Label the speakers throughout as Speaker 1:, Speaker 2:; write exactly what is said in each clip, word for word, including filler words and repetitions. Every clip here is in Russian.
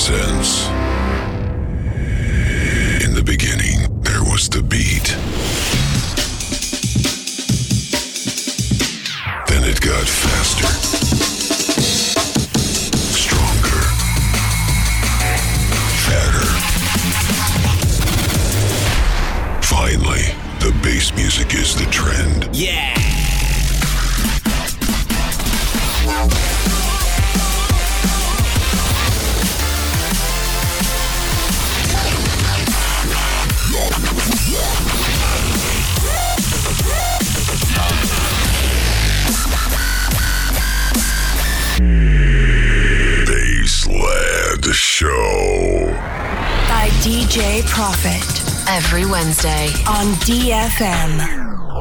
Speaker 1: presents. In the beginning, there was the beat. Then it got faster, stronger, fatter. Finally, the bass music is the trend.
Speaker 2: Yeah!
Speaker 1: Bassland Show
Speaker 3: by D J Profit every Wednesday on D F M.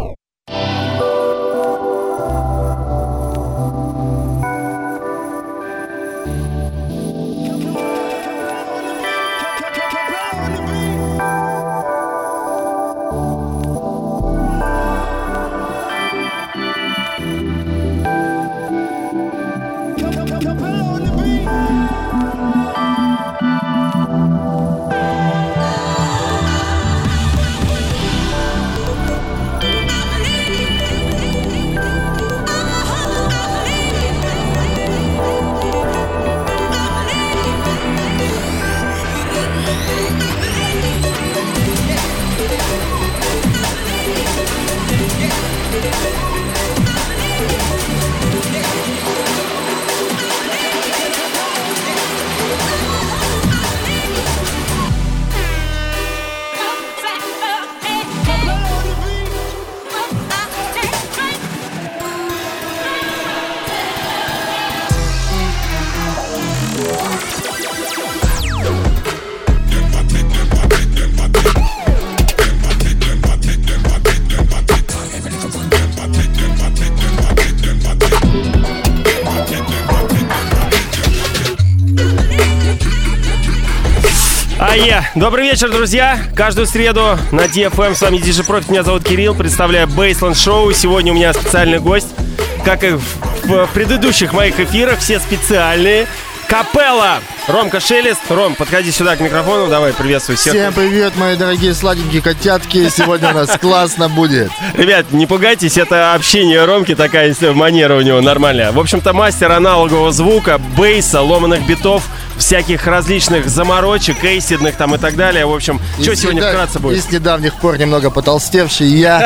Speaker 4: Добрый вечер, друзья! Каждую среду на ди эф эм с вами ди джей Profit, меня зовут Кирилл, представляю Bassland Show. Сегодня у меня специальный гость, как и в предыдущих моих эфирах, все специальные. Капелла! Ромка Шелест. Ром, подходи сюда к микрофону, давай, приветствуй всех.
Speaker 5: Всем привет, мои дорогие сладенькие котятки, сегодня у нас классно будет.
Speaker 4: Ребят, не пугайтесь, это общение Ромки, такая манера у него нормальная. В общем-то, мастер аналогового звука, бейса, ломаных битов, всяких различных заморочек, эйсидных там и так далее. В общем, и что сегодня вкратце будет?
Speaker 5: И с недавних пор немного потолстевший я.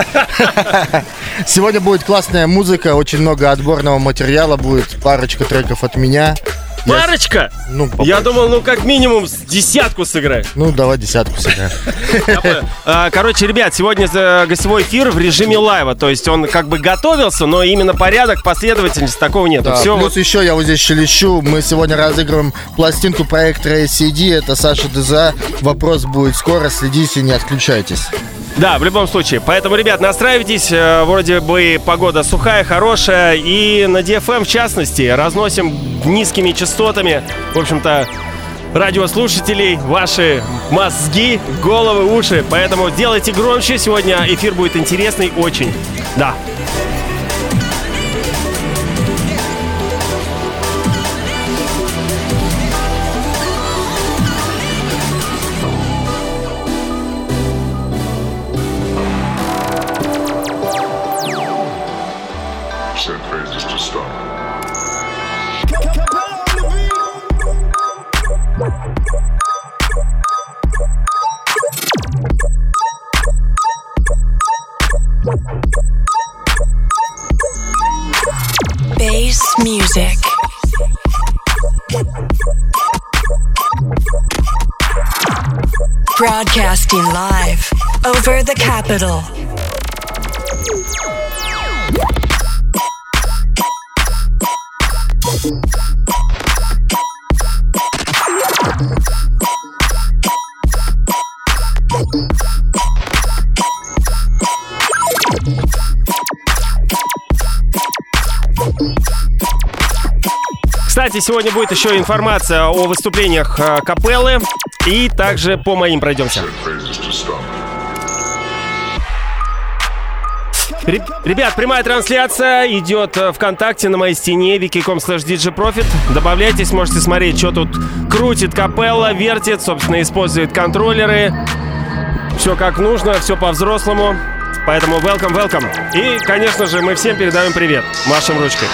Speaker 5: Сегодня будет классная музыка, очень много отборного материала, будет парочка треков от меня.
Speaker 4: Парочка?
Speaker 5: Я, ну,
Speaker 4: Я думал, ну как минимум с десятку сыграй.
Speaker 5: Ну, давай десятку сыграем.
Speaker 4: Короче, ребят, сегодня гостевой эфир в режиме лайва. То есть он как бы готовился, но именно порядок, последовательность такого нет.
Speaker 5: Да,
Speaker 4: Все
Speaker 5: плюс вот... еще я вот здесь шелещу. Мы сегодня разыгрываем пластинку проекта эй си ди. Это Саша Деза. Вопрос будет скоро. Следите, не отключайтесь.
Speaker 4: Да, в любом случае. Поэтому, ребят, настраивайтесь. Вроде бы погода сухая, хорошая. И на ди эф эм, в частности, разносим низкими частотами, в общем-то, радиослушателей, ваши мозги, головы, уши. Поэтому делайте громче. Сегодня эфир будет интересный очень. Да.
Speaker 3: Bass music. Broadcasting live over the capital.
Speaker 4: Кстати, сегодня будет еще информация о выступлениях э, Капеллы. И также по моим пройдемся. Ребят, прямая трансляция идет ВКонтакте на моей стене вики точка ком слэш диджейпрофит. Добавляйтесь, можете смотреть, что тут крутит капелла, вертит, собственно, использует контроллеры. Все как нужно, все по-взрослому. Поэтому welcome, welcome. И, конечно же, мы всем передаем привет. Машем ручкой.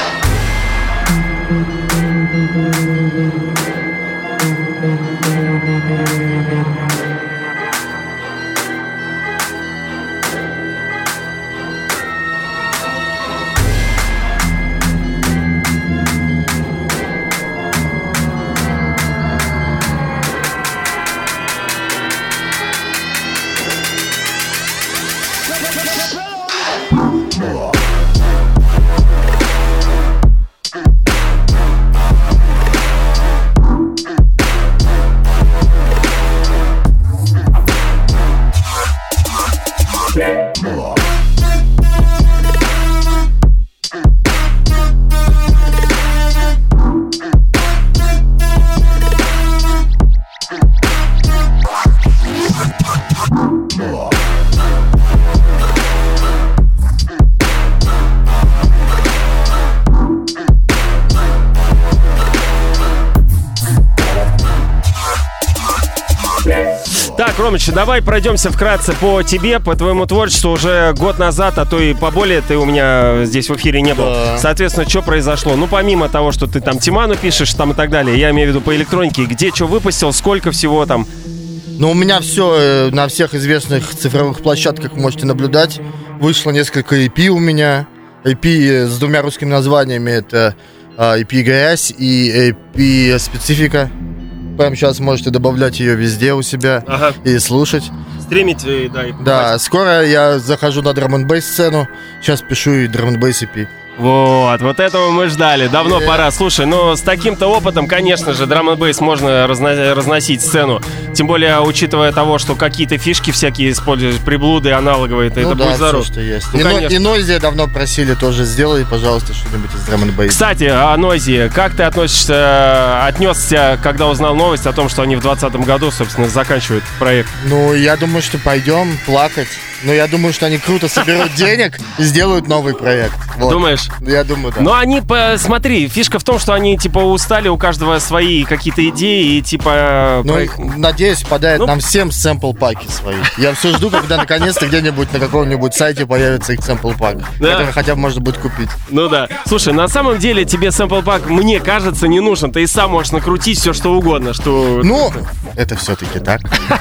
Speaker 4: Так, Ромыч, давай пройдемся вкратце по тебе, по твоему творчеству. Уже год назад, а то и поболее, ты у меня здесь в эфире не был. Да. Соответственно, что произошло? Ну, помимо того, что ты там Тиману пишешь там и так далее, я имею в виду по электронике, где что выпустил, сколько всего там?
Speaker 5: Ну, у меня все на всех известных цифровых площадках можете наблюдать. Вышло несколько и пи у меня. и пи с двумя русскими названиями. Это и пи «Грязь» и и пи «Специфика». Прямо сейчас можете добавлять ее везде у себя, ага, и слушать.
Speaker 4: Стримить, да, и покупать.
Speaker 5: Да, скоро я захожу на драм-н-бейс сцену. Сейчас пишу и драм-н-бейс и пи.
Speaker 4: Вот, вот этого мы ждали. Давно yeah. пора. Слушай, ну с таким-то опытом, конечно же, драм-н-бейс можно разно- разносить сцену. Тем более, учитывая того, что какие-то фишки всякие используют, приблуды аналоговые, ну, это
Speaker 5: да,
Speaker 4: будет здорово.
Speaker 5: Что есть. Ну, и, и Noisy давно просили тоже, сделай, пожалуйста, что-нибудь из драм-н-бейс.
Speaker 4: Кстати, о Noisy. Как ты относишься, отнесся, когда узнал новость о том, что они в двадцатом году, собственно, заканчивают проект?
Speaker 5: Ну, я думаю, что пойдем плакать. Но я думаю, что они круто соберут денег и сделают новый проект. Вот.
Speaker 4: Думаешь?
Speaker 5: Я думаю, да.
Speaker 4: Но они, смотри, фишка в том, что они, типа, устали, у каждого свои какие-то идеи, и, типа...
Speaker 5: Ну,
Speaker 4: про...
Speaker 5: надеюсь, подают ну... нам всем сэмпл-паки свои. Я все жду, когда наконец-то где-нибудь на каком-нибудь сайте появится их сэмпл-пак, да, который хотя бы можно будет купить.
Speaker 4: Ну да. Слушай, на самом деле тебе сэмпл-пак, мне кажется, не нужен. Ты и сам можешь накрутить все, что угодно. Что...
Speaker 5: Ну, это все-таки так.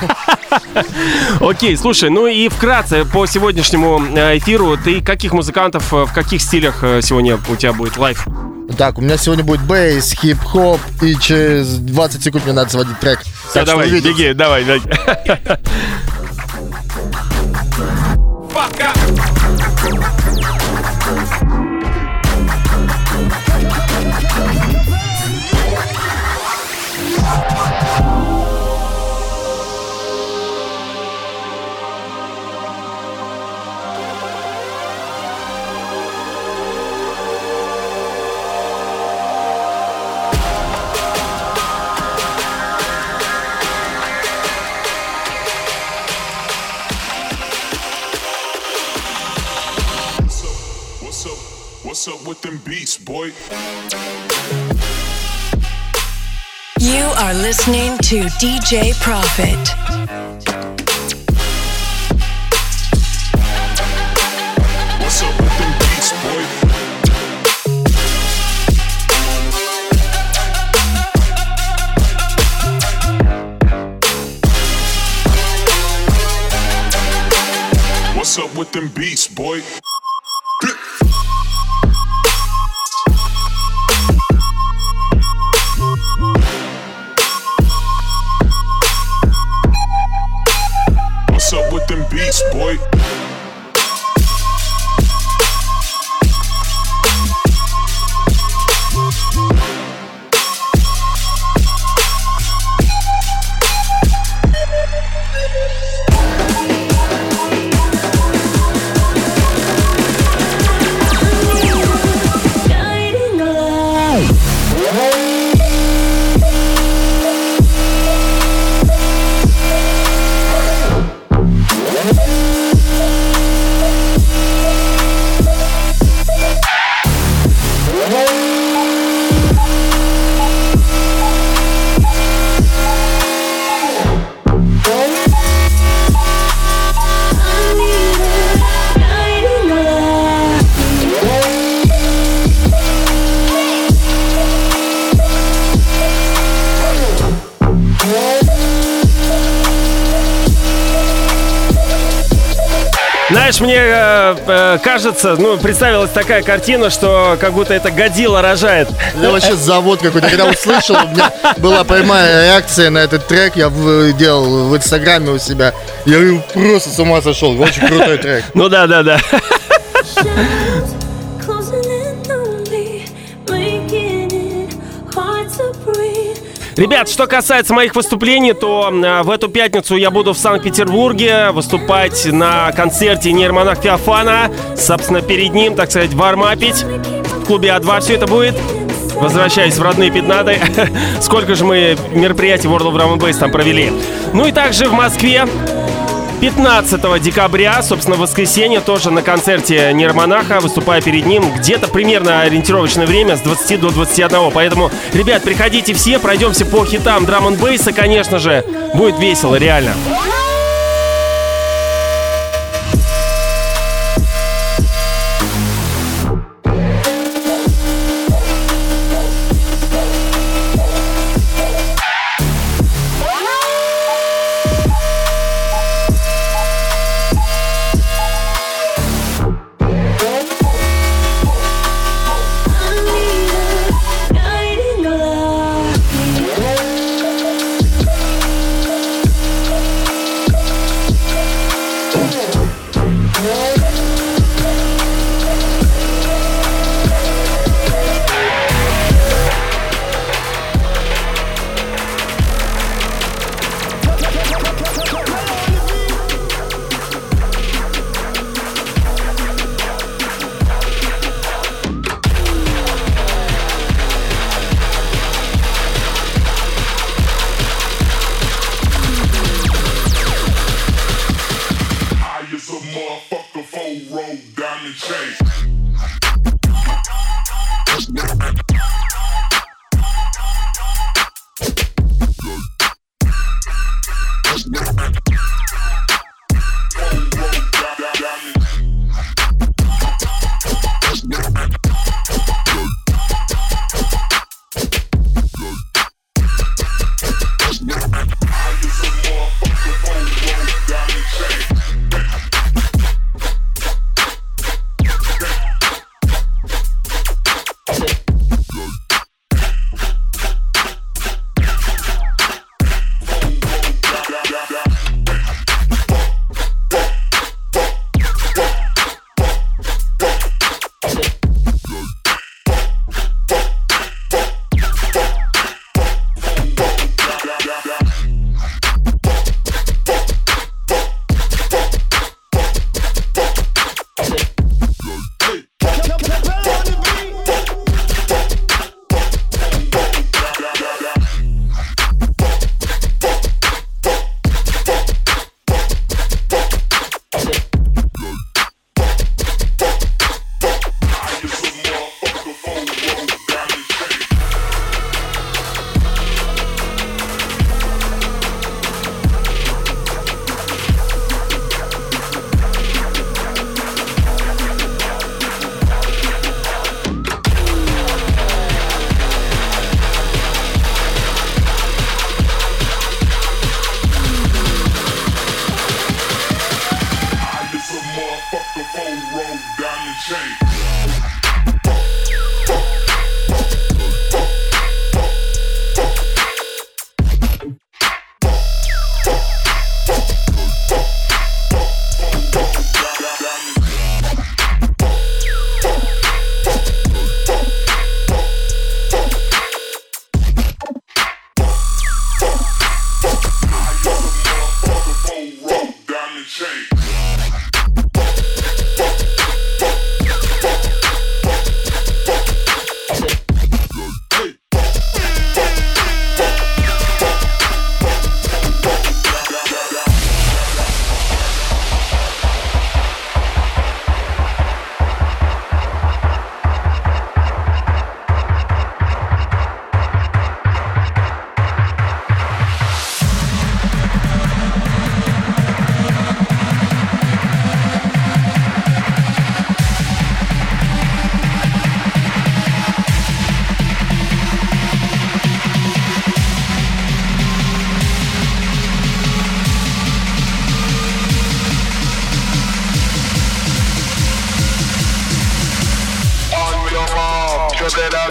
Speaker 4: Окей, слушай, ну и вкратце по сегодняшнему эфиру, ты каких музыкантов, в каких стилях сегодня у тебя будет лайв?
Speaker 5: Так, у меня сегодня будет бейс, хип-хоп, и через двадцать секунд мне надо сводить трек.
Speaker 4: Все, так давай, беги, давай, давай.
Speaker 1: What's up with them beats, boy?
Speaker 3: You are listening to ди джей Profit.
Speaker 1: What's up with them beats, boy? What's up with them beats, boy? What's up with them beats, boy?
Speaker 4: Знаешь, мне э, э, кажется, ну, представилась такая картина, что как будто это Годзилла рожает.
Speaker 5: Я вообще завод какой-то. Когда услышал, у меня была прямая реакция на этот трек. Я в, делал в Инстаграме у себя. Я просто с ума сошел. Очень крутой трек.
Speaker 4: Ну да, да, да. Ребят, что касается моих выступлений, то в эту пятницу я буду в Санкт-Петербурге выступать на концерте «Нейромонах» Феофана. Собственно, перед ним, так сказать, вармапить. В клубе А два все это будет. Возвращаясь в родные Пятнады. Сколько же мы мероприятий World of Drum and Bass там провели. Ну и также в Москве пятнадцатого декабря, собственно, в воскресенье, тоже на концерте «Нейромонаха», выступая перед ним, где-то примерно ориентировочное время с двадцати до двадцати одного. Поэтому, ребят, приходите все, пройдемся по хитам драм-н-бейса, конечно же. Будет весело, реально.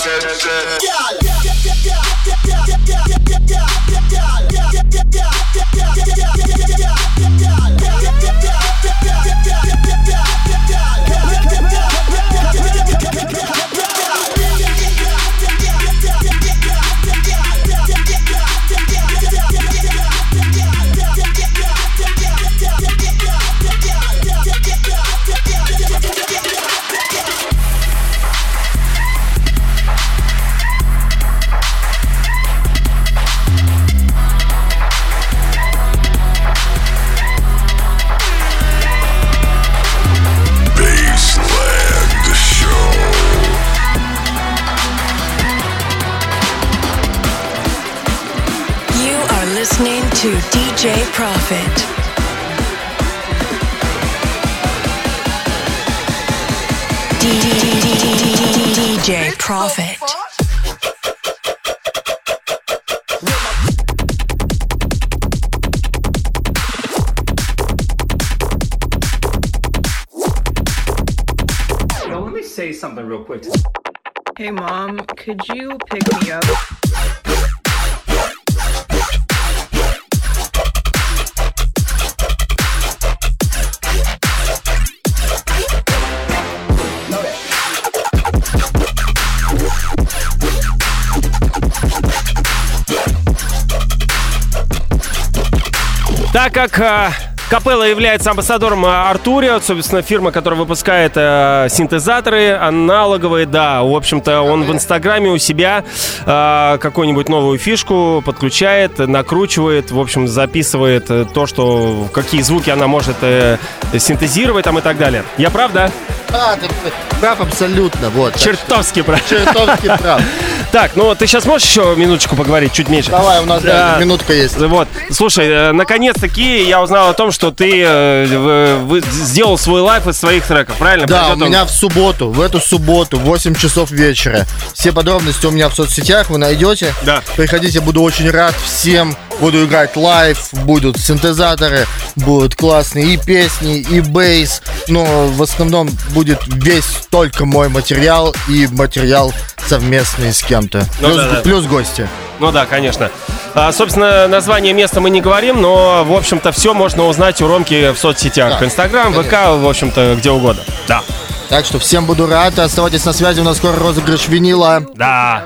Speaker 3: Listening to ди джей Profit. ди джей Profit.
Speaker 2: Yo, let me say something real quick.
Speaker 6: Hey, Mom, could you pick me up?
Speaker 4: Так как э, Капелла является амбассадором Артурио, собственно, фирма, которая выпускает э, синтезаторы аналоговые, да, в общем-то, он в Инстаграме у себя э, какую-нибудь новую фишку подключает, накручивает, в общем, записывает то, что, какие звуки она может э, синтезировать там и так далее. Я прав, да?
Speaker 5: А, ты прав абсолютно, вот.
Speaker 4: Чертовски прав.
Speaker 5: Чертовски прав.
Speaker 4: Так, ну ты сейчас можешь еще минуточку поговорить, чуть меньше?
Speaker 5: Давай, у нас да, минутка есть.
Speaker 4: Вот, слушай, наконец-таки я узнал о том, что ты э, вы, сделал свой лайв из своих треков, правильно?
Speaker 5: Да,
Speaker 4: Пройдет
Speaker 5: у меня
Speaker 4: он...
Speaker 5: в субботу, в эту субботу, в восемь часов вечера. Все подробности у меня в соцсетях, вы найдете.
Speaker 4: Да.
Speaker 5: Приходите, буду очень рад всем. Буду играть лайв, будут синтезаторы, будут классные и песни, и бейс. Но в основном будет весь только мой материал и материал совместный с кем-то.
Speaker 4: Ну,
Speaker 5: плюс,
Speaker 4: да, да.
Speaker 5: плюс гости.
Speaker 4: Ну да, конечно. А, собственно, название места мы не говорим, но, в общем-то, все можно узнать у Ромки в соцсетях.
Speaker 5: Да,
Speaker 4: Инстаграм, ВК, в общем-то, где угодно. Да.
Speaker 5: Так что всем буду рад. Оставайтесь на связи, у нас скоро розыгрыш винила.
Speaker 4: Да.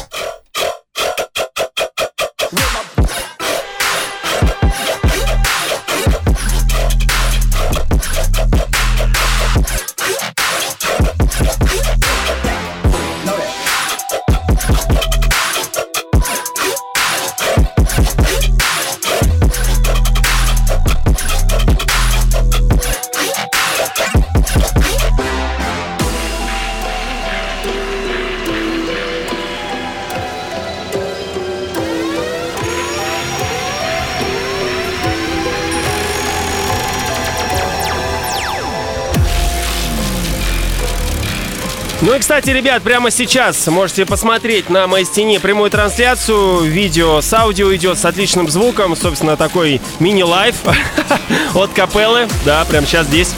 Speaker 4: Ну и, кстати, ребят, прямо сейчас можете посмотреть на моей стене прямую трансляцию. Видео с аудио идет с отличным звуком. Собственно, такой мини-лайв от Капеллы. Да, прямо сейчас здесь.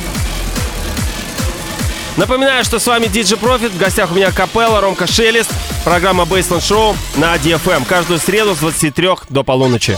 Speaker 4: Напоминаю, что с вами ди джей Profit. В гостях у меня Капелла, Ромка Шелест. Программа Baseline Show на ди эф эм. Каждую среду с двадцати трёх до полуночи.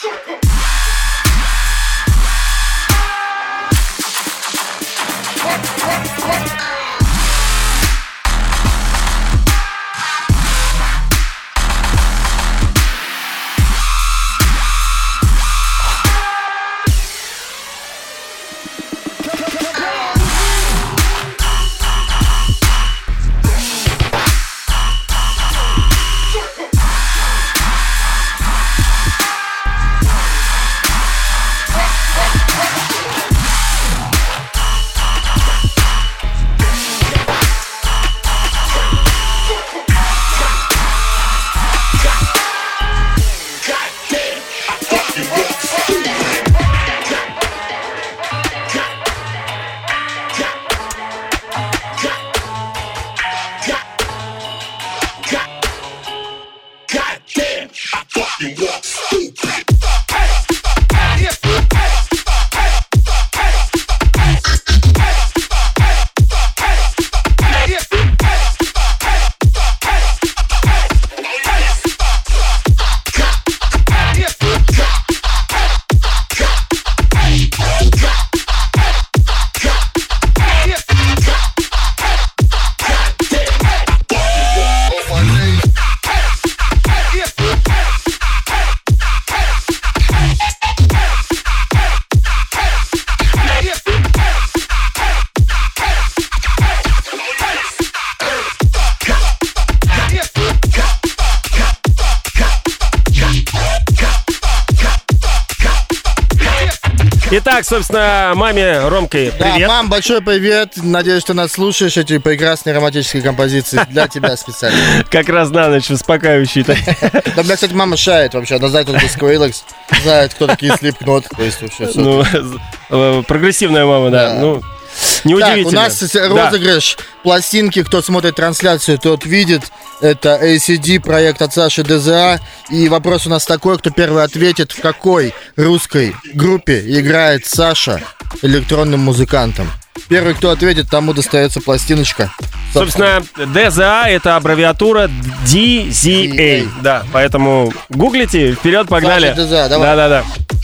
Speaker 4: Итак, собственно, маме Ромки привет.
Speaker 5: Да, мам, большой привет. Надеюсь, что нас слушаешь. Эти прекрасные романтические композиции для тебя специально.
Speaker 4: Как раз на ночь успокаивающий.
Speaker 5: Да, меня, кстати, мама шает вообще. Она знает, кто такой Skrillex, знает, кто такие Slipknot. То есть вообще все.
Speaker 4: Ну, прогрессивная мама, да. Ну, неудивительно.
Speaker 5: Так, у нас розыгрыш пластинки. Кто смотрит трансляцию, тот видит. Это эй си ди, проект от Саши ДЗА. И вопрос у нас такой, кто первый ответит, в какой русской группе играет Саша электронным музыкантом. Первый, кто ответит, тому достается пластиночка.
Speaker 4: Собственно, ДЗА — это аббревиатура ди зет эй. Да, поэтому гуглите, вперед, погнали.
Speaker 5: Саша ДЗА, давай.
Speaker 4: Да-да-да.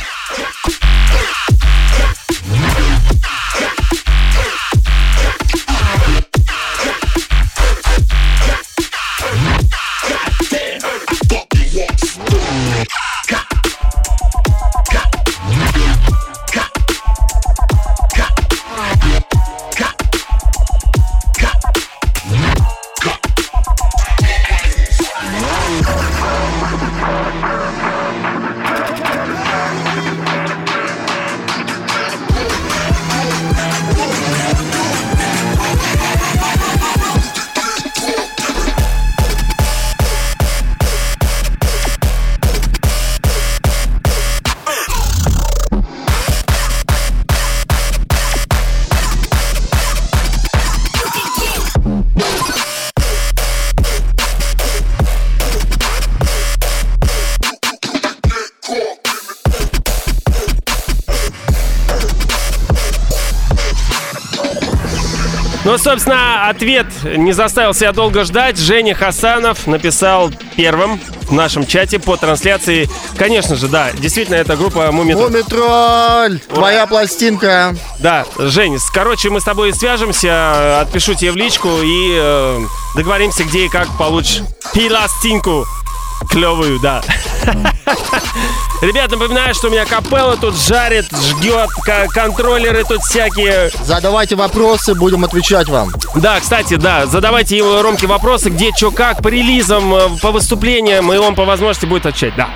Speaker 4: Ну, собственно, ответ не заставил себя долго ждать. Женя Хасанов написал первым в нашем чате по трансляции. Конечно же, да, действительно, это группа Мумитроль.
Speaker 5: Мумитроль! Твоя пластинка.
Speaker 4: Да, Жень, короче, мы с тобой свяжемся, отпишу тебе в личку и э, договоримся, где и как получишь пластинку клевую, да. Ребят, напоминаю, что у меня капелла тут жарит, жгет, контроллеры тут всякие.
Speaker 5: Задавайте вопросы, будем отвечать вам.
Speaker 4: Да, кстати, да, задавайте ему, Ромке, вопросы, где, что, как, по релизам, по выступлениям, и он по возможности будет отвечать, да.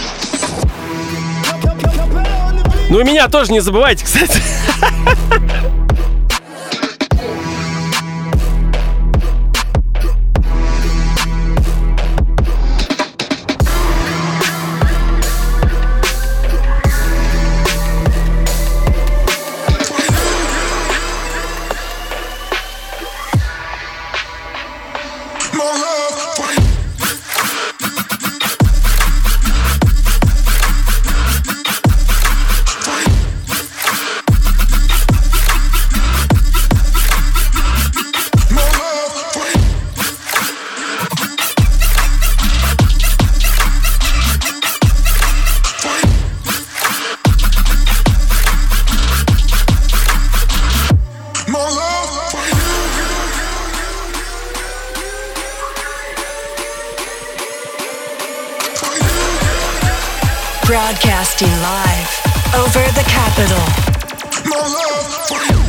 Speaker 4: Ну и меня тоже не забывайте, кстати.
Speaker 3: Broadcasting live over the capital.
Speaker 1: My love for you.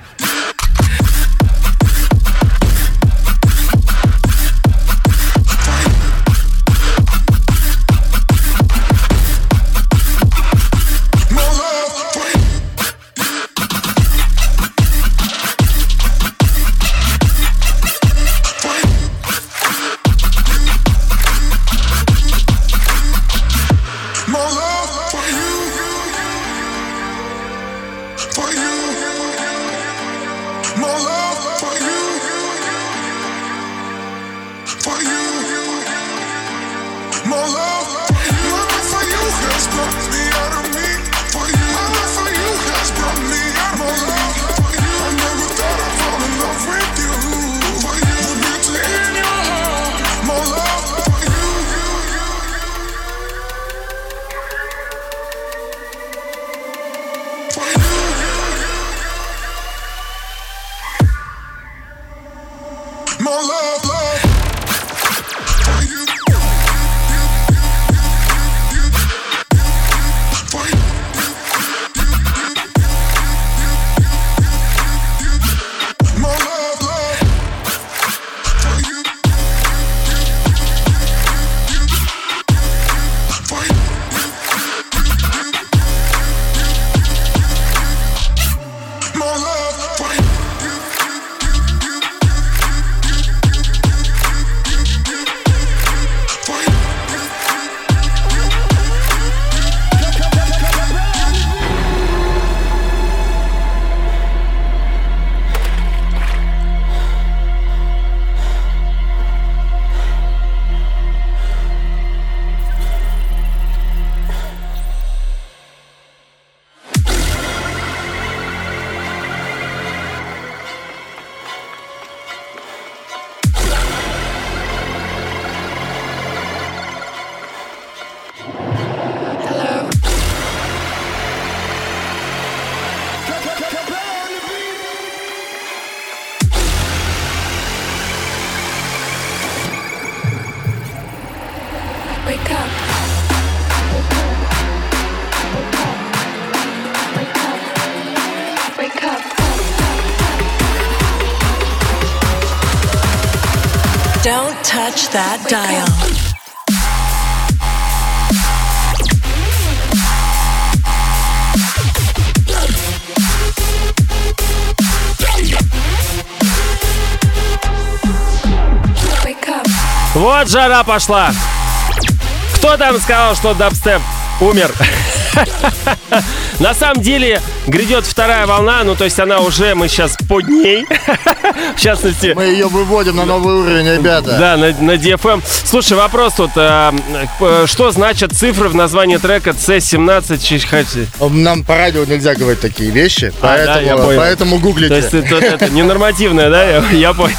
Speaker 3: Don't touch that dial.
Speaker 4: Вот жара пошла. Кто там сказал, что дабстеп умер? На самом деле грядет вторая волна, ну то есть она уже, мы сейчас под ней. В частности...
Speaker 5: Мы ее выводим на новый уровень, ребята.
Speaker 4: Да, на, на ди эф эм. Слушай, вопрос тут. А, что значат цифры в названии трека си семнадцать?
Speaker 5: Нам по радио нельзя говорить такие вещи,
Speaker 4: а,
Speaker 5: поэтому,
Speaker 4: да, я понял.
Speaker 5: поэтому гуглите.
Speaker 4: То есть это, это ненормативное, да? Я, я понял.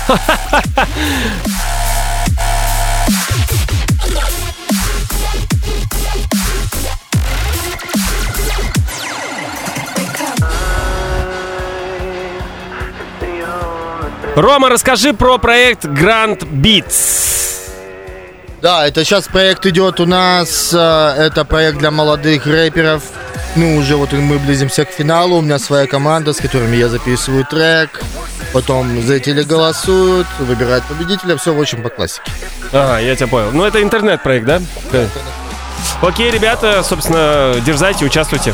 Speaker 4: Рома, расскажи про проект Grand Beats.
Speaker 5: Да, это сейчас проект идет у нас. Это проект для молодых рэперов. Ну, уже вот мы близимся к финалу. У меня своя команда, с которыми я записываю трек. Потом зрители голосуют, выбирают победителя. Все очень по классике.
Speaker 4: Ага, я тебя понял. Ну, это интернет-проект, да? Да. Окей, ребята, собственно, дерзайте, участвуйте.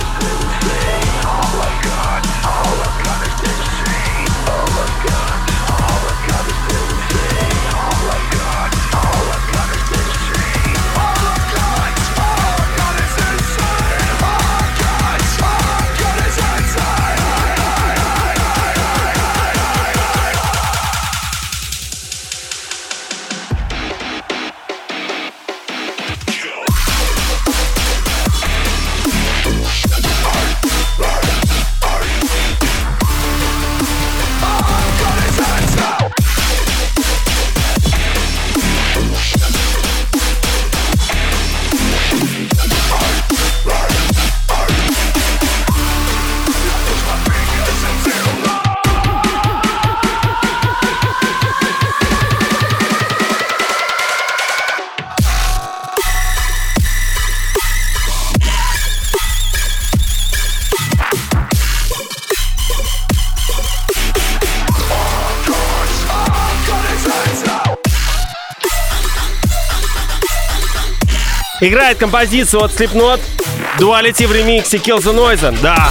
Speaker 4: Играет композицию от Slipknot, Duality в ремиксе Kill the Noise. Да.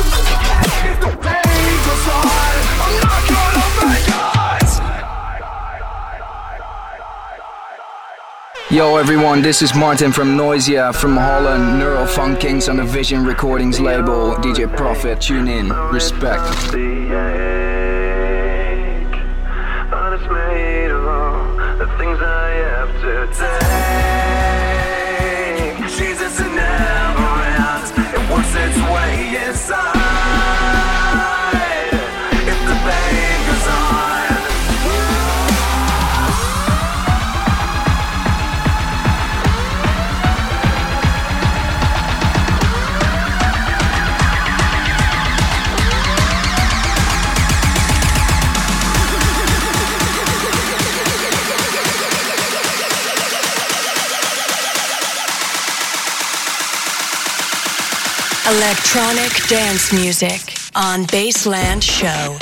Speaker 7: Yo everyone, this is Martin from Noisia from Holland, Neurofunk Kings on the Vision Recordings label. D J Prophet, tune in, respect.
Speaker 8: Jesus is never ends, it works its way inside. If the pain goes on,
Speaker 3: Electronic dance music on Baseland Show.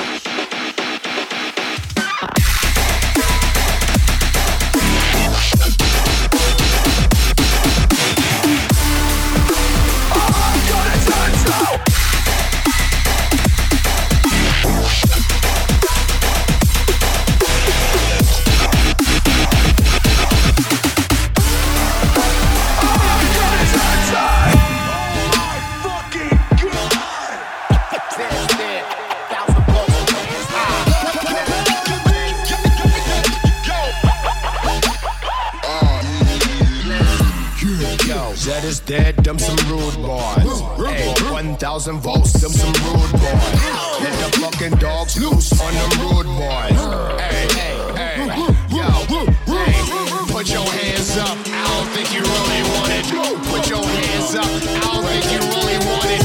Speaker 9: Is dead, them some rude boys. Hey, one thousand volts, them some rude boys. Let the fucking dogs loose on them rude boys. Hey, hey, hey, yo, hey, put your hands up. I don't think you really want it. Put your hands up. I don't think you really want it.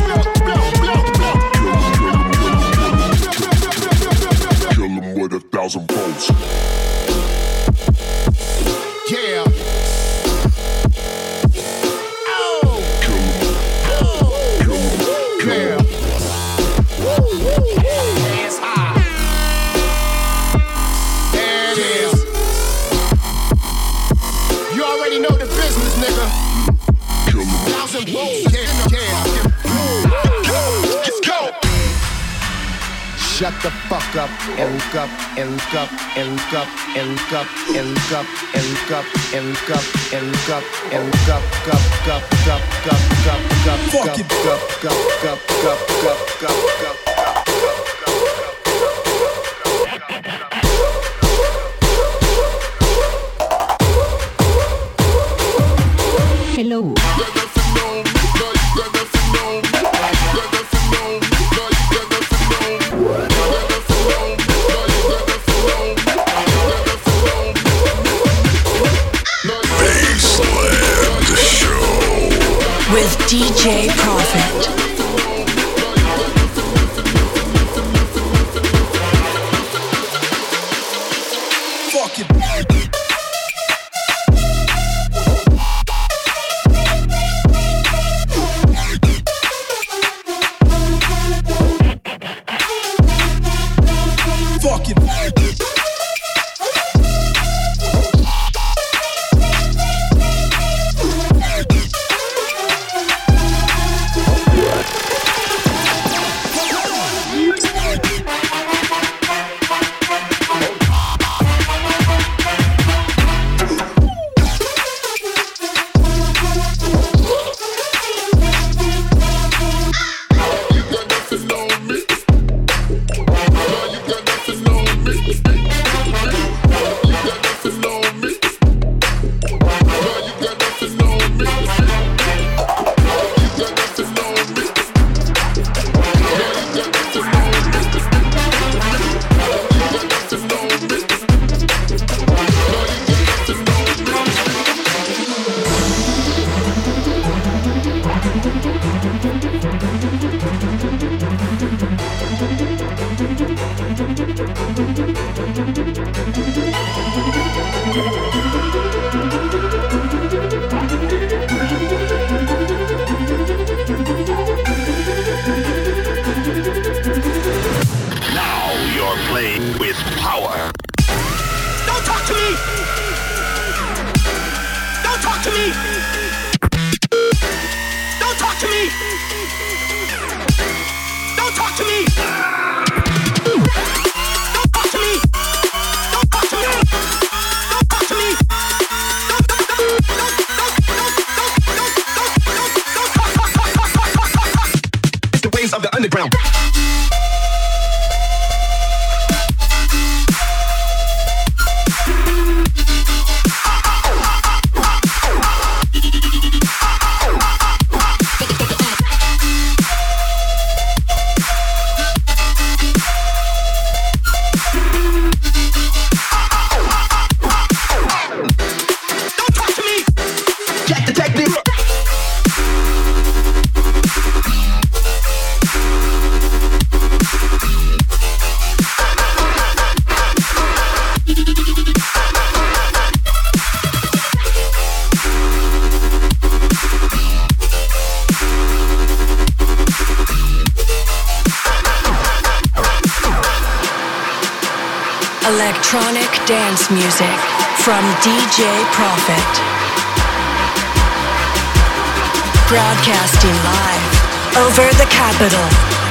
Speaker 1: Kill him with a thousand volts.
Speaker 9: Yeah. Shut the fuck up and look up and look up and look up and look up and look up and look up and look up and look up and look up cup cup cup cup cup cup cup cup cup cup cup cup cup cup.
Speaker 10: Hello.
Speaker 3: With D J Prophet.
Speaker 8: Don't talk to me! Don't talk to me! underground.
Speaker 3: Electronic dance music from ди джей Profit. Broadcasting live over the capital.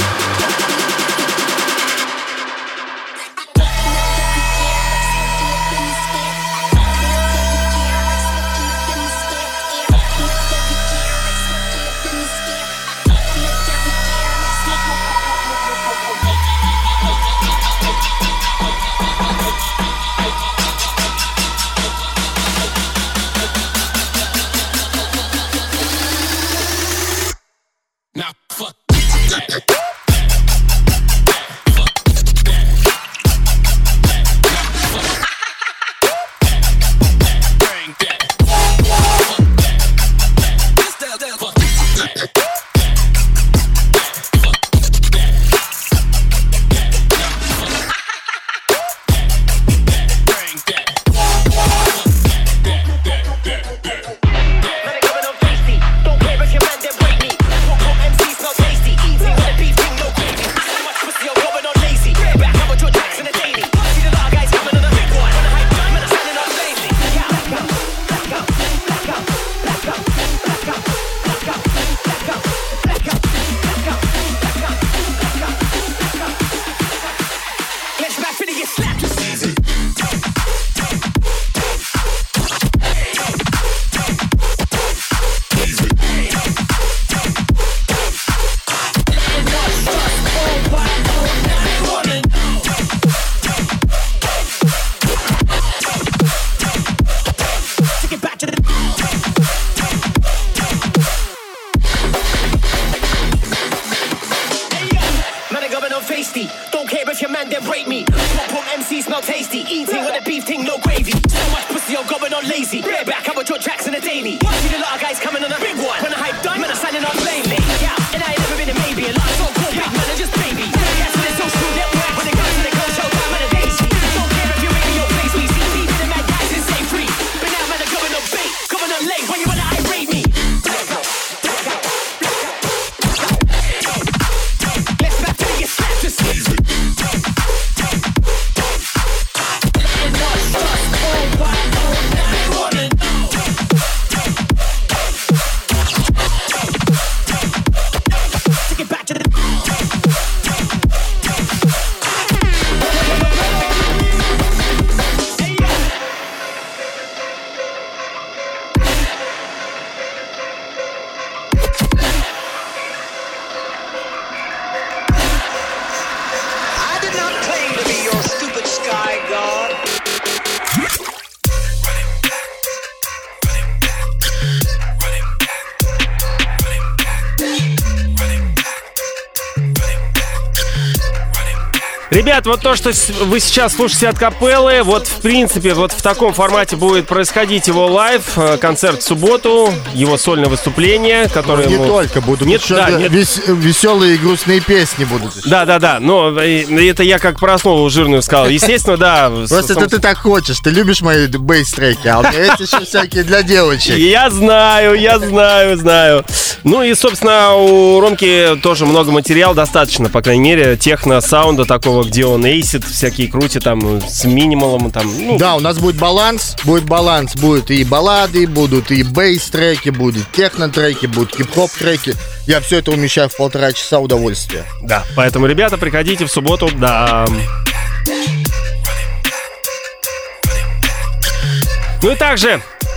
Speaker 4: Ребят, вот то, что вы сейчас слушаете от Капеллы, вот в принципе, вот в таком формате будет происходить его лайв, концерт в субботу, его сольное выступление, которое...
Speaker 5: Не
Speaker 4: ему...
Speaker 5: только, будут
Speaker 4: нет,
Speaker 5: еще
Speaker 4: да, нет...
Speaker 5: вес... веселые и грустные песни будут еще.
Speaker 4: Да-да-да, но это я как про основу жирную сказал. Естественно, да.
Speaker 5: Просто это ты так хочешь, ты любишь мои бейс-треки, а у меня есть еще всякие для девочек.
Speaker 4: Я знаю, я знаю, знаю. Ну и, собственно, у Ромки тоже много материала, достаточно, по крайней мере, техно-саунда такого, где он эйсит, всякие крути там с минималом там. Ну.
Speaker 5: Да, у нас будет баланс, будет баланс, будут и баллады, будут и бейс-треки, будут техно-треки, будут хип-хоп треки. Я все это умещаю в полтора часа удовольствия.
Speaker 4: Да, поэтому, ребята, приходите в субботу, да. Ну и также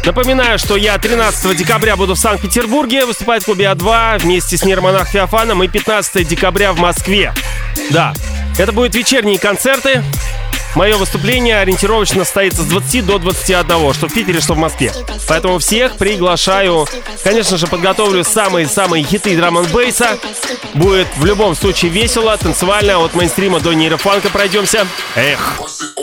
Speaker 4: Напоминаю, что я тринадцатого декабря буду в Санкт-Петербурге выступать в клубе А два вместе с Нейромонах Феофаном, и пятнадцатого декабря в Москве. Да, это будут вечерние концерты. Мое выступление ориентировочно состоится с двадцати до двадцати одного, что в Питере, что в Москве. Поэтому всех приглашаю. Конечно же, подготовлю самые-самые хиты драм-н-бейса. Будет в любом случае весело, танцевально. От мейнстрима до нейрофанка пройдемся. Эх.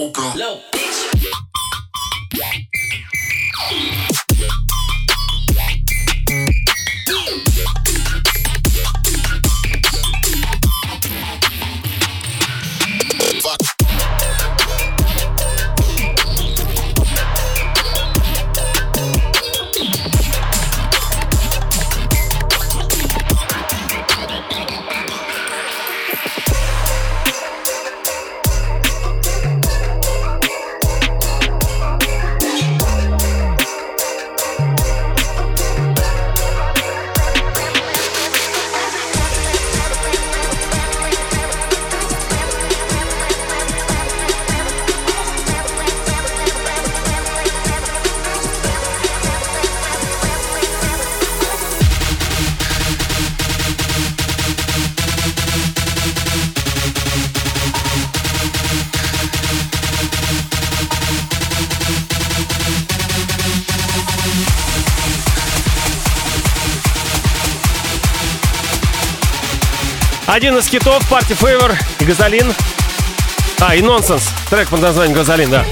Speaker 4: Один из хитов Party Favor и Газолин. А, и Nonsense. Трек под названием Газолин, да.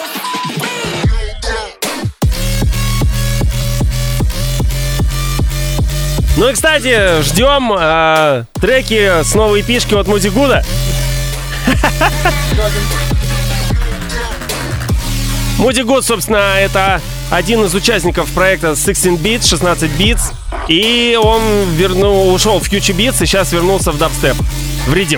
Speaker 4: Ну и, кстати, ждем э, треки с новой пишки от Мудигуда. Мудигуд, собственно, это один из участников проекта шестнадцать бит, шестнадцать битс. И он вернул, ушел в Future Beats и сейчас вернулся в дабстеп, в ридим.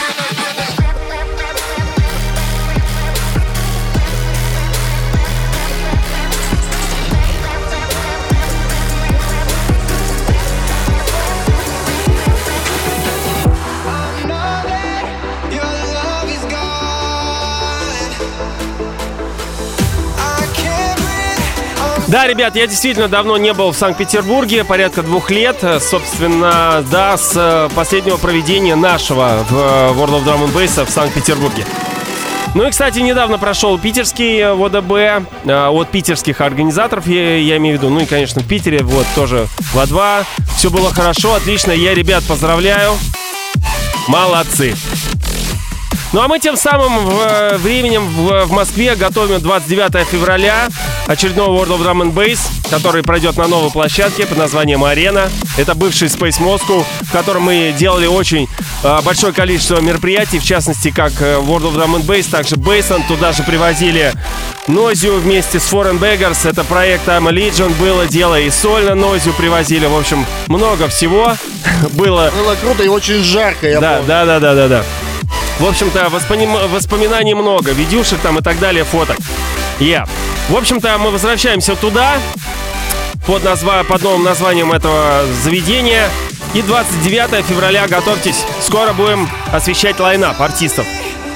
Speaker 4: Да, ребят, я действительно давно не был в Санкт-Петербурге, порядка двух лет, собственно, да, с последнего проведения нашего в World of Drum and Bass в Санкт-Петербурге. Ну и, кстати, недавно прошел питерский ВДБ от питерских организаторов, я, я имею в виду, ну и, конечно, в Питере, вот, тоже в А два. Все было хорошо, отлично, я, ребят, поздравляю, молодцы. Ну а мы тем самым в, временем в, в Москве готовим двадцать девятого февраля очередного World of Drum and Bass, который пройдет на новой площадке под названием «Арена». Это бывший Space Moscow, в котором мы делали очень э, большое количество мероприятий, в частности, как World of Drum and Bass, также Bassland. Туда же привозили Noisia вместе с Foreign Beggars. Это проект I'm a Legion было дело, и сольно Noisia привозили. В общем, много всего было.
Speaker 5: Было круто и очень жарко, я
Speaker 4: да,
Speaker 5: помню.
Speaker 4: Да, да, да, да, да. В общем-то, воспоми- воспоминаний много, видюшек там и так далее, фоток. Yeah. В общем-то, мы возвращаемся туда под, назва- под новым названием этого заведения. И двадцать девятого февраля, готовьтесь, скоро будем освещать лайнап артистов.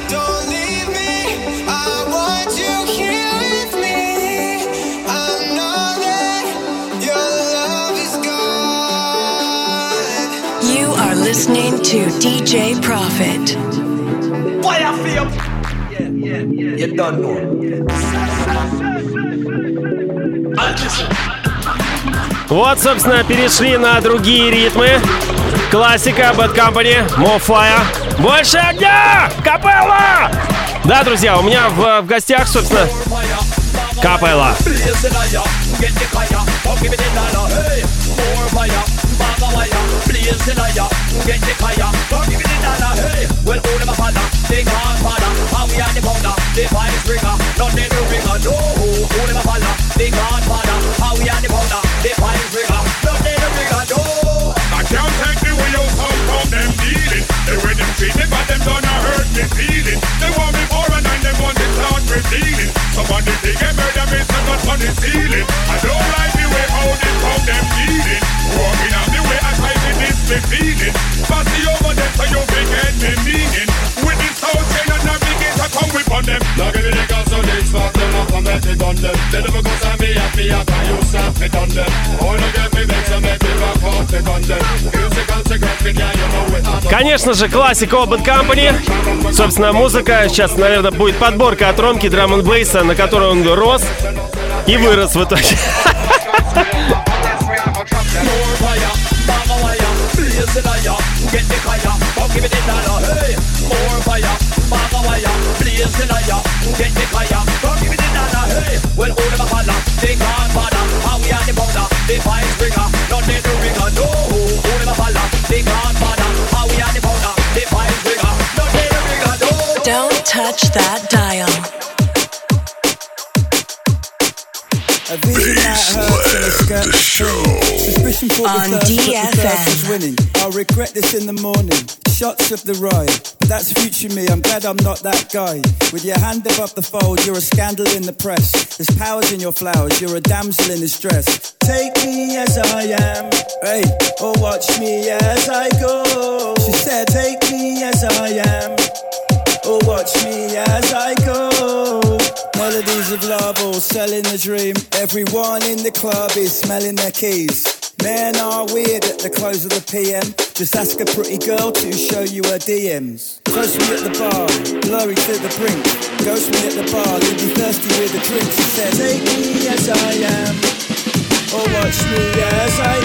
Speaker 3: You are listening to ди джей Profit.
Speaker 8: Fire for you. Yeah, yeah, yeah. You don't know.
Speaker 4: Вот, собственно, перешли на другие ритмы. Классика, Bad Company, More Fire. Больше огня! Капелла! Да, друзья, у меня в, в гостях, собственно, Капелла.
Speaker 9: I can't take the way out how come them dealing. The way them treat me, but them gonna hurt me feeling. They want me for a nine, they want to start revealing. Somebody they get murder, me set up on the ceiling. I don't like the way how they come them dealing. Walking on the way I try to this me feeling. Passy over them so you big head me meaning. With this whole chain and navigate I come whip on them. Look at the niggas so they start them up on make me done them. They never go to me and me, I can use them, me done them. Oh, you get me vex and make me rock out, me done them. Musical cigarette, yeah, you know it.
Speaker 4: Конечно же, классика Old Bad Company. Собственно, музыка. Сейчас, наверное, будет подборка от Ромки драм н бейса, на которой он рос и вырос в итоге.
Speaker 3: Don't touch that dial.
Speaker 11: A vision that hurts and a skirt
Speaker 1: the show.
Speaker 11: Suspicion for
Speaker 3: On
Speaker 11: the thirst,
Speaker 3: D
Speaker 11: but the
Speaker 3: F M.
Speaker 11: thirst is winning. I'll regret this in the morning. Shots of the ride, but that's future me. I'm glad I'm not that guy. With your hand above the fold, you're a scandal in the press. There's powers in your flowers, you're a damsel in distress. Take me as I am, hey, or watch me as I go. She said, take me as I am, or watch me as I go. Melodies of love, all selling the dream. Everyone in the club is smelling their keys. Men are weird at the close of the P M. Just ask a pretty girl to show you her D Ms. Toast me at the bar, blurry to the brink. Ghost me at the bar, leave me thirsty with a drink. She said, take me as I am, or watch me as I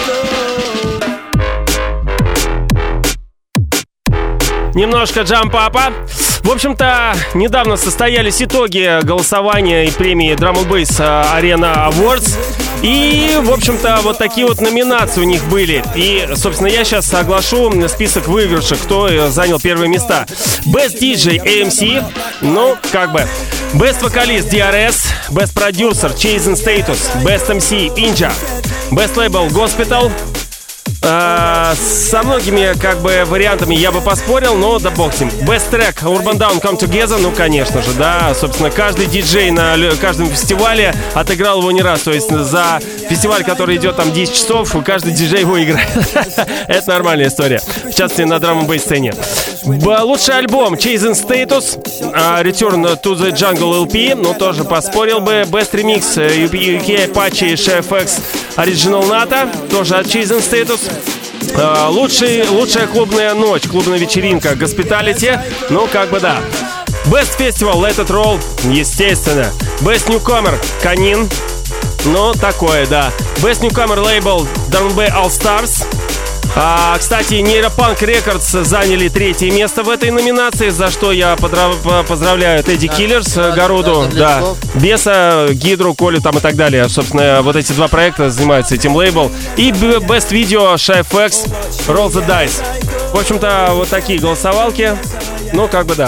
Speaker 11: go.
Speaker 4: Немножко джамп-апа. В общем-то, недавно состоялись итоги голосования и премии Drum and Bass Arena Awards. И, в общем-то, вот такие вот номинации у них были. И, собственно, я сейчас оглашу список выигравших, кто занял первые места. Best ди джей эй эм си, ну, как бы. Best Vocalist ди ар эс, Best Producer Chase and Status, Best эм си Inja, Best Label Gospel. А, со многими, как бы, вариантами я бы поспорил, но да бог с ним. Best Track Urban Down Come Together, ну, конечно же, да. Собственно, каждый диджей на каждом фестивале отыграл его не раз. То есть за фестиваль, который идет там десять часов, каждый диджей его играет. Это нормальная история. В частности, на драм-н-бейс сцене. Лучший альбом Chase and Status, Return to the Jungle эл пи, ну, тоже поспорил бы. Best Remix ю кей Apache Chef X Original Nata, тоже от Chase and Status. Uh, лучший, лучшая клубная ночь, клубная вечеринка Hospitality, ну как бы да. Best Festival Let It Roll, естественно. Best Newcomer Канин, ну такое, да. Best Newcomer Label дабл ю би All Stars. А, кстати, Neuropunk Records заняли третье место в этой номинации, за что я подрав... поздравляю Тедди Киллерс, да, Гаруду, да, Беса, Гидру, Колю там и так далее. Собственно, вот эти два проекта занимаются этим лейбл. И Best Video Chef X Roll the Dice. В общем-то, вот такие голосовалки. Ну, как бы да.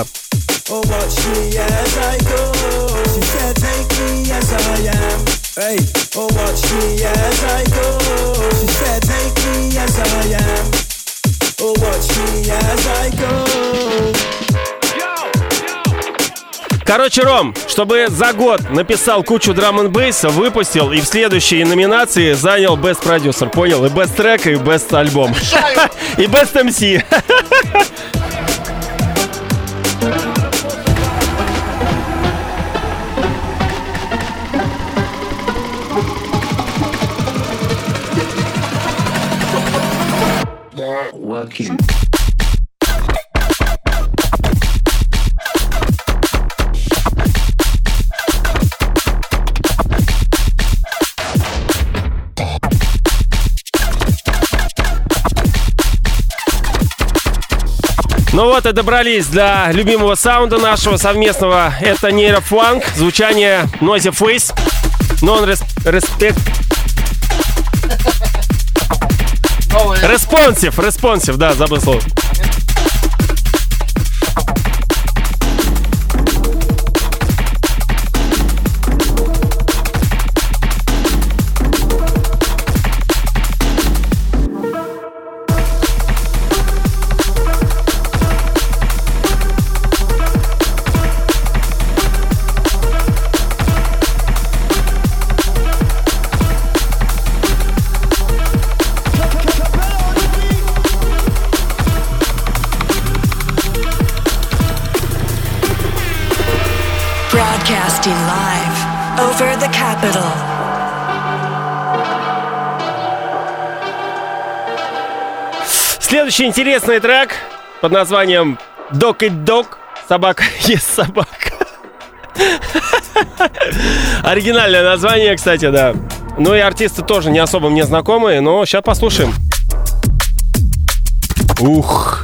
Speaker 11: Hey, oh watch me as I go. She said, take me as I am. Oh watch me as I go.
Speaker 4: Короче, Ром, чтобы за год написал кучу драм-н-бейса, выпустил и в следующей номинации занял Best Producer, понял? И Best Track, и Best Альбом. И Best эм си.
Speaker 2: Working.
Speaker 4: Ну вот и добрались до любимого саунда нашего совместного. Это нейрофанк, звучание Noisy Face, Non-Respect. Респонсив, респонсив, да, забыл слово.
Speaker 3: Broadcasting live over the capital.
Speaker 4: Следующий интересный трек под названием «Dog Eat Dog». Собака ест собака. Оригинальное название, кстати, да. Ну и артисты тоже не особо мне знакомые, но сейчас послушаем. Ух.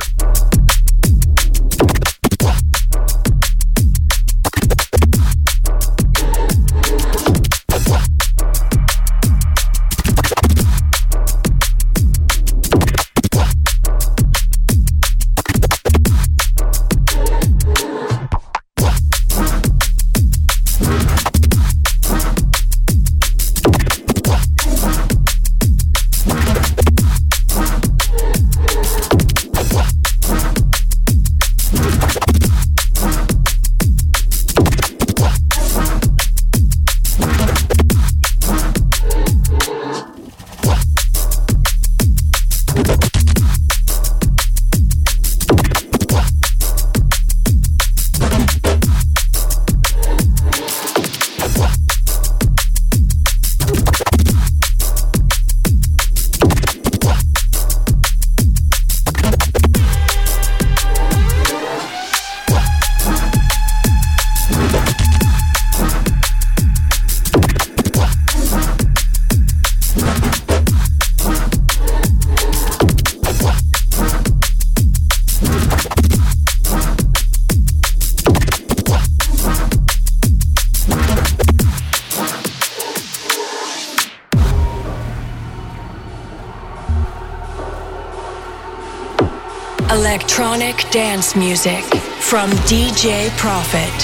Speaker 3: Electronic dance music from ди джей Profit.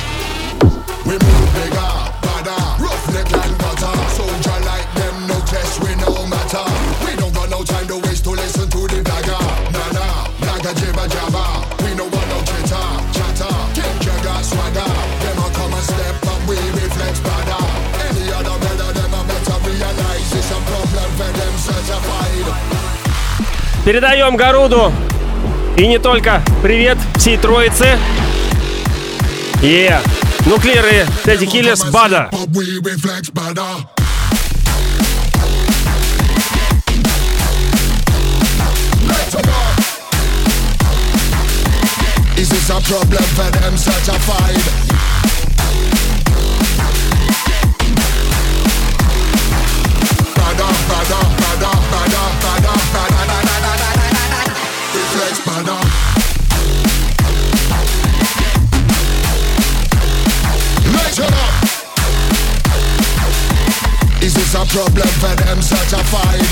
Speaker 9: We move bigger, badder, roughneck and gutter. Soldier like them, no test, we no matter. We don't got no time to waste to listen to the dagger. Nah nah, dagger jibber jabber. We no want no chitter, chatter. Kick jagger swagger. Them a come and step up, we reflex badder. Any other better, them a better realize it's a problem for them certified.
Speaker 4: Передаем Гаруду и не только привет всей троице. Yeah. Nuclear и Teddy Killers, Бада.
Speaker 9: Is this a problem for them certified? Bada, bada, bada, bada, bada, bada, bada, reflex bada. Light it up. Is this a problem for them certified?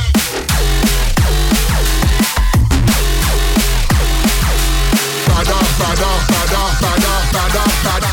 Speaker 9: Bada, bada, bada, bada, bada, bada,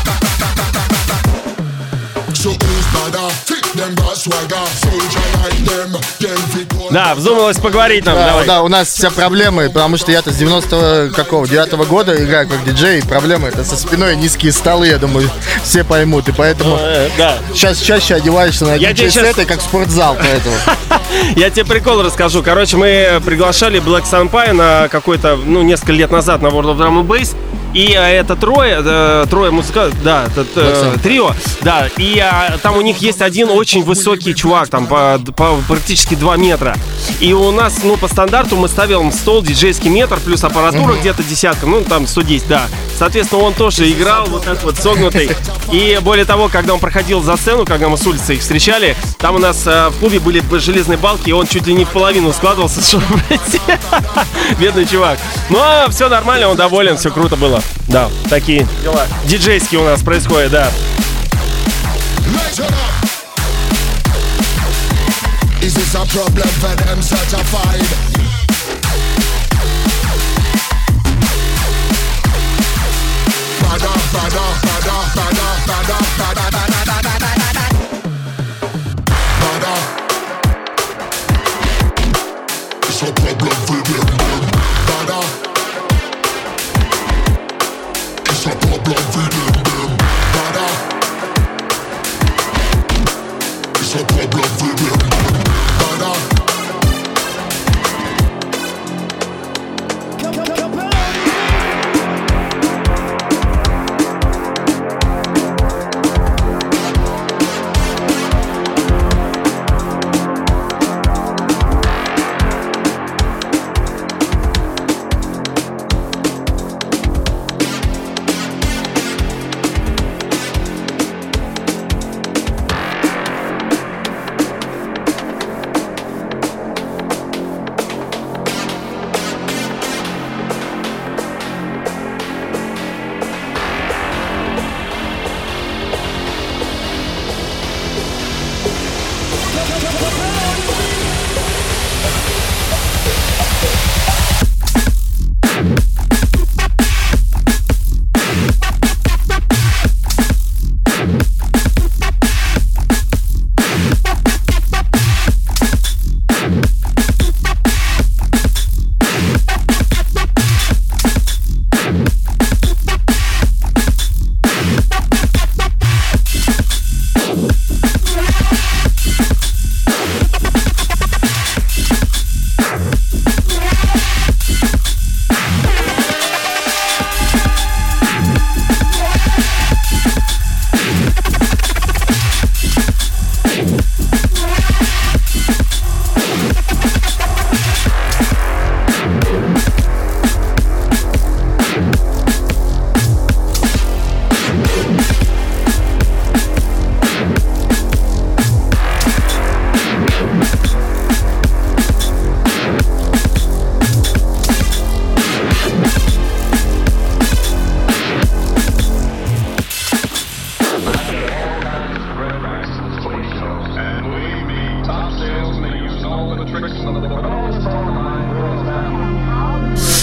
Speaker 9: bada. So who's bada? Take them got swagger. Soldier like them.
Speaker 4: Да, вздумалось поговорить нам,
Speaker 5: да,
Speaker 4: давай.
Speaker 5: Да, у нас все проблемы, потому что я-то с девяносто девятого года играю как диджей, и проблемы это со спиной низкие столы, я думаю, все поймут, и поэтому
Speaker 4: э, да.
Speaker 5: сейчас чаще одеваешься на диджей-сеты, как спортзал, поэтому.
Speaker 4: Я тебе прикол расскажу. Короче, мы приглашали Black Sunpie на какой-то, ну, несколько лет назад на World of Drum and Bass. И а, это трое, э, трое музыкантов, да, это, э, трио, да, и а, там у них есть один очень высокий чувак, там по, по практически два метра. И у нас, ну, по стандарту мы ставим стол диджейский метр, плюс аппаратура mm-hmm. где-то десятка, ну, там сто десять, да. Соответственно, он тоже играл вот так вот согнутый. И более того, когда он проходил за сцену, когда мы с улицы их встречали, там у нас э, в клубе были железные балки, и он чуть ли не в половину складывался, что, блядь, бедный чувак. Но все нормально, он доволен, все круто было. Да, такие дела диджейские у нас происходят, да.
Speaker 9: Is this a problem for them certified? Bada, bada, bada, bada, bada, bada, bada, bada, bada. It's a problem for them. Bada. It's a problem for them. Bada. It's a problem for them. Bada.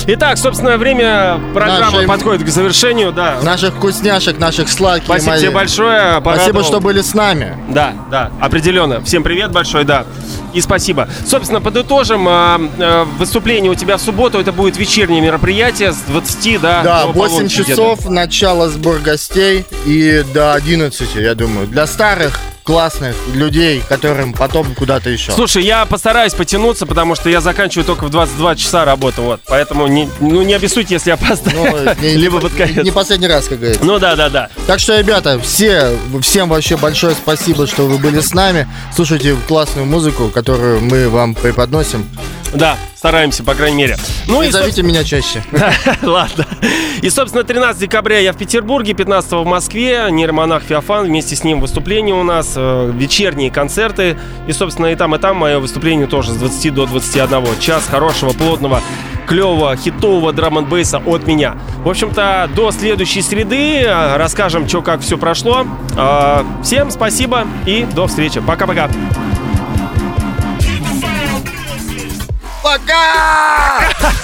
Speaker 4: Итак, собственно, время программы
Speaker 5: Нашей...
Speaker 4: подходит к завершению, да.
Speaker 5: Наших вкусняшек, наших сладких.
Speaker 4: Спасибо
Speaker 5: мои.
Speaker 4: тебе большое. Порадовал.
Speaker 5: Спасибо, что были с нами.
Speaker 4: Да, да, определенно. Всем привет большой, да. И спасибо. Собственно, подытожим. Выступление у тебя в субботу. Это будет вечернее мероприятие с двадцати до
Speaker 5: Да, восемь часов, где-то. Начало сбор гостей и до одиннадцати, я думаю. Для старых, классных людей, которым потом куда-то еще.
Speaker 4: Слушай, я постараюсь потянуться, потому что я заканчиваю только в двадцать два часа работу. Вот. Поэтому не, ну, не обессудьте, если я опоздаю. Ну, не,
Speaker 5: Либо под конец. Не последний раз, как говорится.
Speaker 4: Ну да, да, да.
Speaker 5: Так что, ребята, все, всем вообще большое спасибо, что вы были с нами. Слушайте классную музыку, которую мы вам преподносим.
Speaker 4: Да, стараемся, по крайней мере. Ну
Speaker 5: и,
Speaker 4: и
Speaker 5: зовите меня чаще.
Speaker 4: Ладно. И, собственно, тринадцатого декабря я в Петербурге, пятнадцатого в Москве. Нейромонах Феофан, вместе с ним выступление у нас, э, вечерние концерты. И, собственно, и там, и там мое выступление тоже с двадцати до двадцати одного. Час хорошего, плотного, клевого, хитового драм-н-бейса от меня. В общем-то, до следующей среды расскажем, что как все прошло. Э, всем спасибо и до встречи. Пока-пока.
Speaker 5: Пока!